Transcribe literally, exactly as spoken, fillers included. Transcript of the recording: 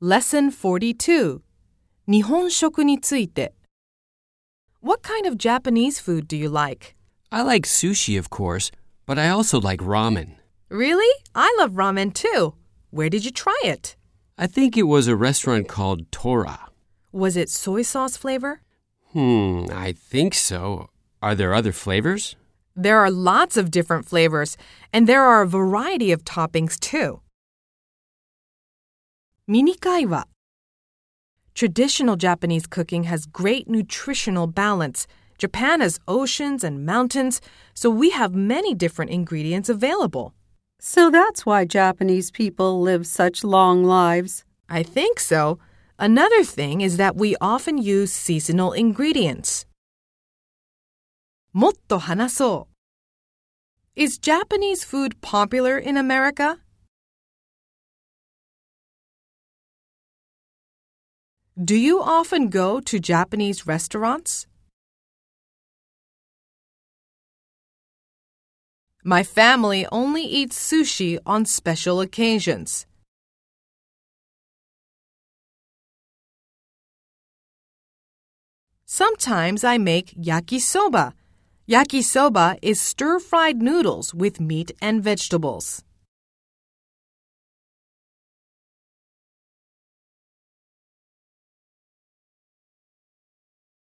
Lesson forty-two 日本食について What kind of Japanese food do you like? I like sushi, of course, but I also like ramen. Really? I love ramen too. Where did you try it? I think it was a restaurant called Tora. Was it soy sauce flavor? Hmm, I think so. Are there other flavors? There are lots of different flavors, and there are a variety of toppings too. ミニ会話 Traditional Japanese cooking has great nutritional balance. Japan has oceans and mountains, so we have many different ingredients available. So that's why Japanese people live such long lives. I think so. Another thing is that we often use seasonal ingredients. もっと話そう Is Japanese food popular in America? Do you often go to Japanese restaurants? My family only eats sushi on special occasions. Sometimes I make yakisoba. Yakisoba is stir-fried noodles with meat and vegetables.